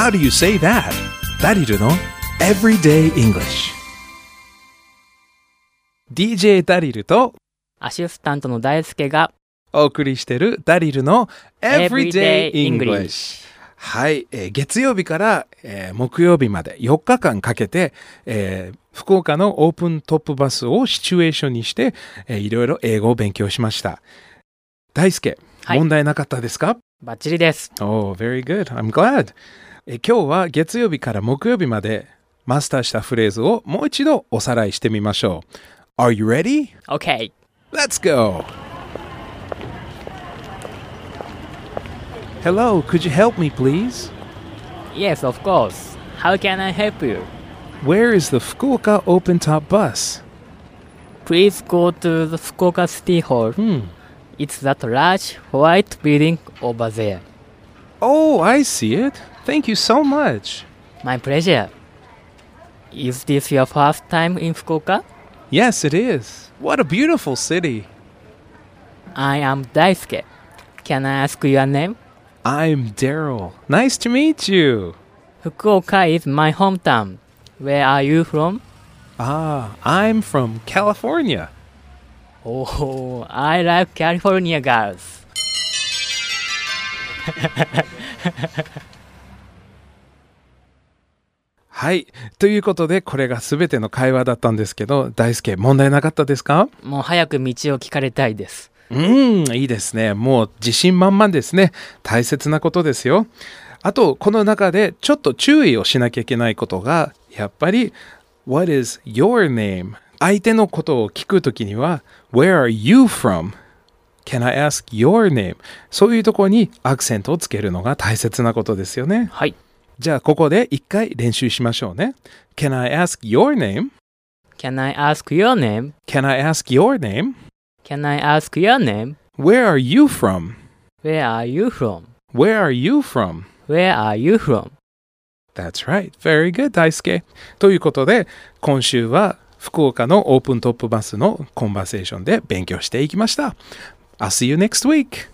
How do you say that? ダリルの Everyday English。 DJ ダリルとアシスタントの大輔がお送りしてるダリルの Everyday Everyday English。 はい、月曜日から、木曜日まで4日間かけて、福岡のオープントップバスをシチュエーションにして、いろいろ英語を勉強しました。大輔、 はい問題なかったですか？ バッチリです。 Oh, very good. I'm glad. 今日は月曜日から木曜日までマスターしたフレーズをもう一度おさらいしてみましょう。Are you ready? OK。 Let's go! Hello, could you help me please? Yes, of course. How can I help you? Where is the Fukuoka open top bus? Please go to the Fukuoka City Hall. It's that large white building over there. Oh, I see it. Thank you so much. My pleasure. Is this your first time in Fukuoka? Yes, it is. What a beautiful city. I am Daisuke. Can I ask your name? I'm Daryl. Nice to meet you. Fukuoka is my hometown. Where are you from? I'm from California. Oh, I like California girls. はい。ということで、これが全ての会話だったんですけど、大輔、問題なかったですか？ もう早く道を聞かれたいです。 いいですね。もう自信満々ですね。大切なことですよ。あと、この中でちょっと注意をしなきゃいけないことが、やっぱり、What is your name? 相手のことを聞くときには、Where are you from? Can I ask your name? そういうところにアクセントをつけるのが大切なことですよね。 はい。 じゃあ、ここで一回練習しましょうね。Can I ask your name? Can I ask your name? Can I ask your name? Can I ask your name? Where are you from? Where are you from? Where are you from? Where are you from? That's right. Very good, 大輔。ということで、今週は福岡のオープントップバスのコンバセーションで勉強していきました。I'll see you next week.